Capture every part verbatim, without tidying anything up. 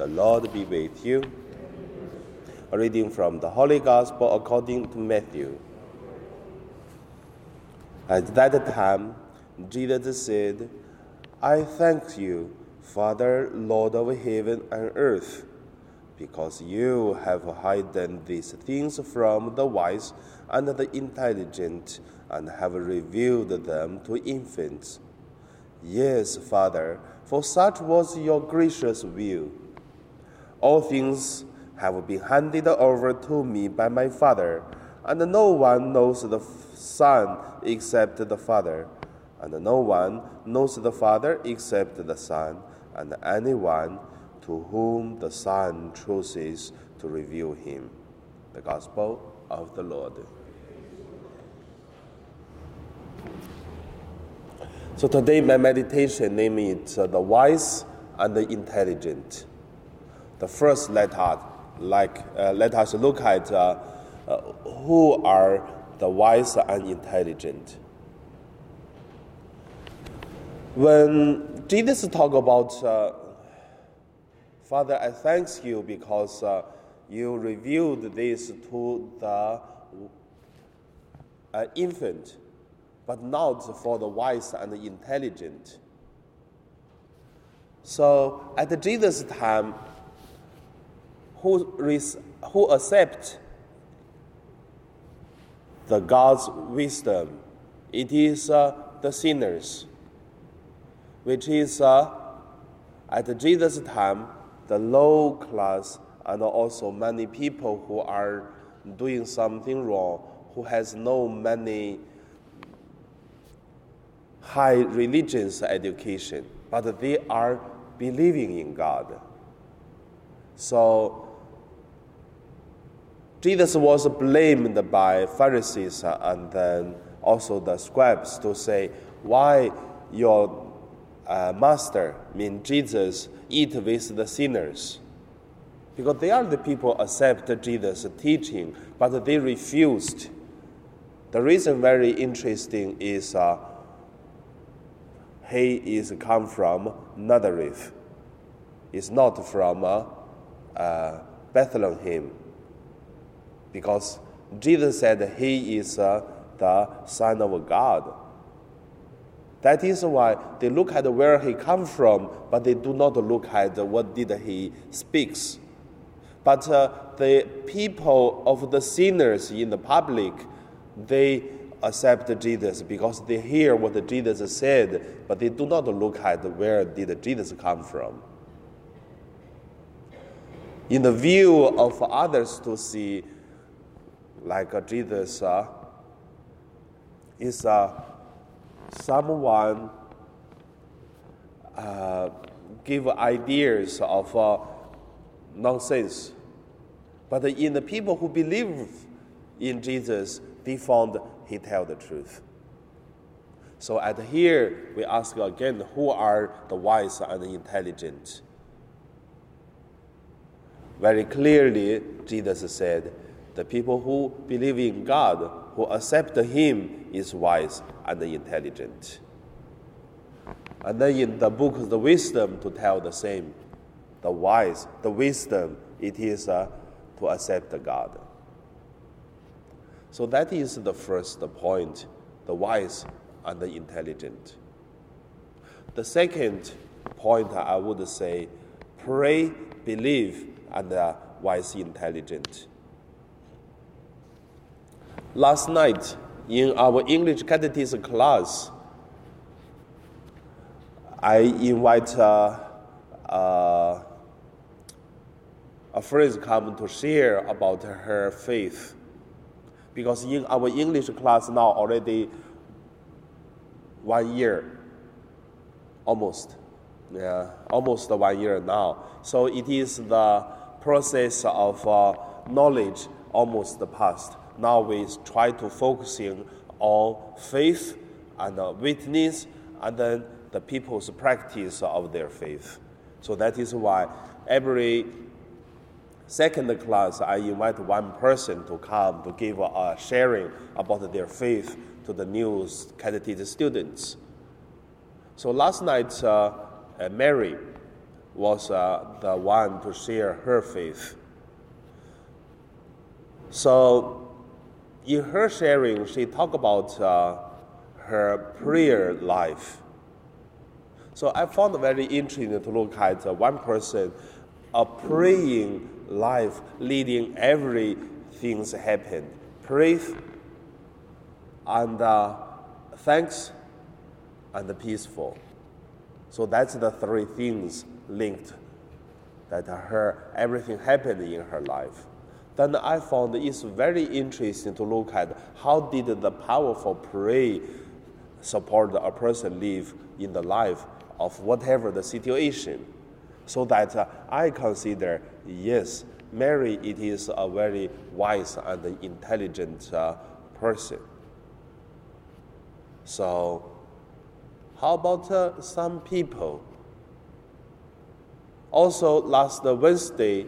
The Lord be with you. A reading from the Holy Gospel according to Matthew. At that time, Jesus said, I thank you, Father, Lord of heaven and earth, because you have hidden these things from the wise and the intelligent and have revealed them to infants. Yes, Father, for such was your gracious will. All things have been handed over to me by my Father, and no one knows the Son except the Father, and no one knows the Father except the Son, and anyone to whom the Son chooses to reveal him. The Gospel of the Lord. So today my meditation name is uh, the wise and the intelligent. The first let us, like, uh, let us look at uh, uh, who are the wise and intelligent. When Jesus talk about, uh, Father, I thank you because uh, you revealed this to the uh, infant, but not for the wise and the intelligent. So at Jesus' time, who, res- who accept the God's wisdom, it is uh, the sinners, which is uh, at Jesus' time, the low class and also many people who are doing something wrong, who has no many high religious education, but they are believing in God. So Jesus was blamed by Pharisees and then also the scribes to say, why your uh, master, I mean Jesus, eat with the sinners? Because they are the people who accept Jesus' teaching, but they refused. The reason very interesting is uh, he is come from Nazareth. It's not from uh, uh, Bethlehem. Because Jesus said he is uh, the Son of God. That is why they look at where he come from, but they do not look at what did he speaks. But uh, the people of the sinners in the public, they accept Jesus because they hear what Jesus said, but they do not look at where did Jesus come from. In the view of others to see, like uh, Jesus uh, is uh, someone uh, give ideas of uh, nonsense. But in the people who believe in Jesus, they found he tell the truth. So at here, we ask again, who are the wise and the intelligent? Very clearly, Jesus said, the people who believe in God, who accept him, is wise and intelligent. And then in the book of the wisdom to tell the same. The wise, the wisdom, it is uh, to accept God. So that is the first point, the wise and the intelligent. The second point I would say, pray, believe, and uh, wise, intelligent. Last night, in our English catechism class, I invite uh, uh, a friend come to share about her faith. Because in our English class now already one year, almost, yeah, almost one year now. So it is the process of uh, knowledge almost past. Now we try to focusing on faith and uh, witness, and then the people's practice of their faith. So that is why every second class I invite one person to come to give a sharing about their faith to the new catechism students. So last night, uh, uh, Mary was uh, the one to share her faith. So in her sharing, she talked about uh, her prayer life. So I found it very interesting to look at uh, one person, a praying life leading everything happen. Praise and uh, thanks and peaceful. So that's the three things linked that her everything happened in her life. Then I found it's very interesting to look at how did the powerful prayer support a person live in the life of whatever the situation. So that uh, I consider, yes, Mary, it is a very wise and intelligent uh, person. So how about uh, some people? Also, last Wednesday,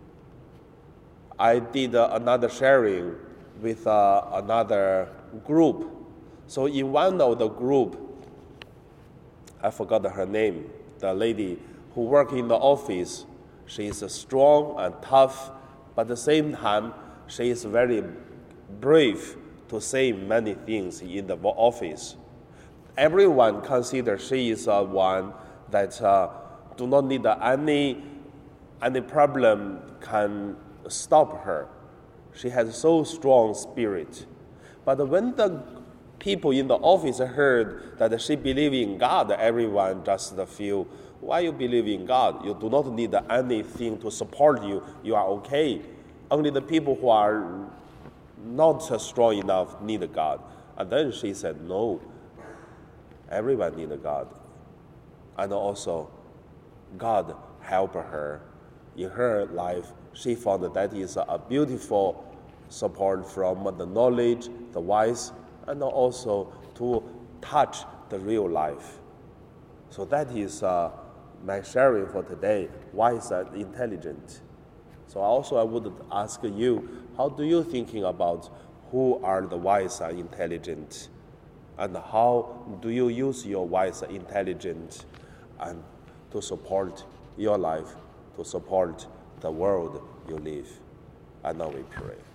I did uh, another sharing with uh, another group. So in one of the group, I forgot her name, the lady who worked in the office. She is strong and tough, but at the same time, she is very brave to say many things in the office. Everyone considers she is uh, one that uh, do not need any, any problem can stop her. She has so strong spirit. But when the people in the office heard that she believes in God, everyone just feel, why you believe in God? You do not need anything to support you. You are okay. Only the people who are not strong enough need God. And then she said, no, everyone needs God. And also, God helped her in her life. She found that, that is a beautiful support from the knowledge, the wise, and also to touch the real life. So that is uh, my sharing for today, wise and intelligent. So also I would ask you, how do you thinking about who are the wise and intelligent? And how do you use your wise and intelligent and to support your life, to support the world you live? And now we pray.